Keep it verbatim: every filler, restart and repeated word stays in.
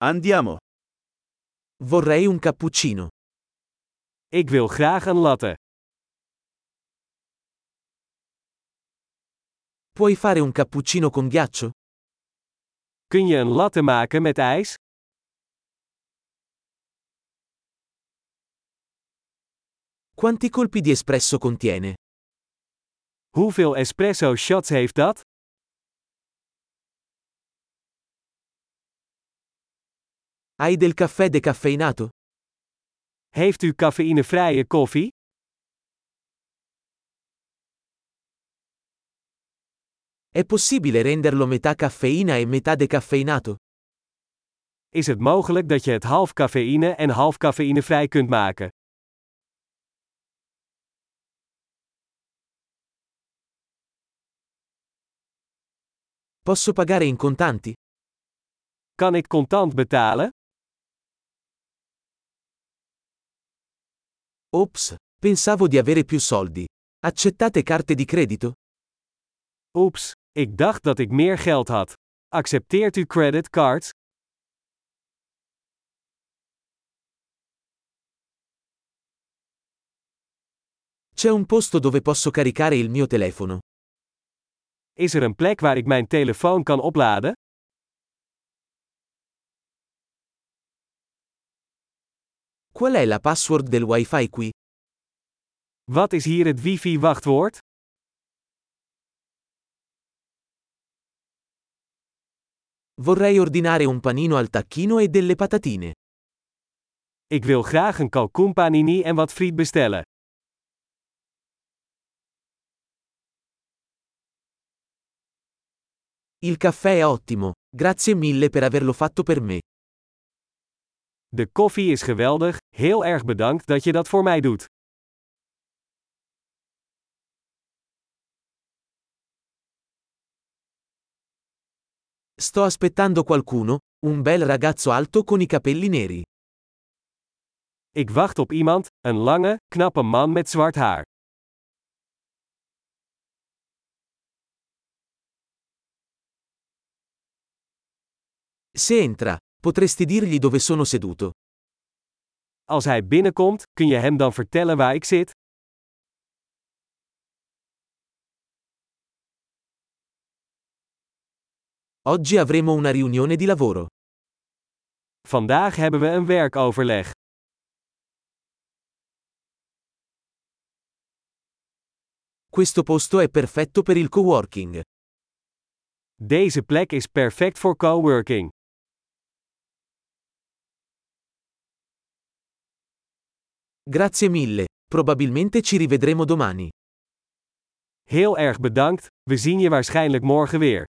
Andiamo. Vorrei un cappuccino. Ik wil graag een latte. Puoi fare un cappuccino con ghiaccio? Kun je een latte maken met ijs? Quanti colpi di espresso contiene? Hoeveel espresso shots heeft dat? Hai del caffè decaffeinato? Heeft u cafeïnevrije koffie? È possibile renderlo metà caffeina e metà decaffeinato? Is het mogelijk dat je het half cafeïne en half cafeïnevrij kunt maken? Posso pagare in contanti? Kan ik contant betalen? Ops, pensavo di avere più soldi. Accettate carte di credito? Oeps, ik dacht dat ik meer geld had. Accepteert u creditcards? C'è un posto dove posso caricare il mio telefono. Is er een plek waar ik mijn telefoon kan opladen? Qual è la password del wifi qui? Wat is hier het wifi-wachtwoord? Vorrei ordinare un panino al tacchino e delle patatine. Ik wil graag een kalkoenpanini en wat friet bestellen. Il caffè è ottimo, grazie mille per averlo fatto per me. De koffie is geweldig, heel erg bedankt dat je dat voor mij doet. Sto aspettando qualcuno, un bel ragazzo alto con i capelli neri. Ik wacht op iemand, een lange, knappe man met zwart haar. Se entra, potresti dirgli dove sono seduto. Als hij binnenkomt, kun je hem dan vertellen waar ik zit? Oggi avremo una riunione di lavoro. Vandaag hebben we een werkoverleg. Questo posto è perfetto per il coworking. Deze plek is perfect voor coworking. Grazie mille, probabilmente ci rivedremo domani. Heel erg bedankt, we zien je waarschijnlijk morgen weer.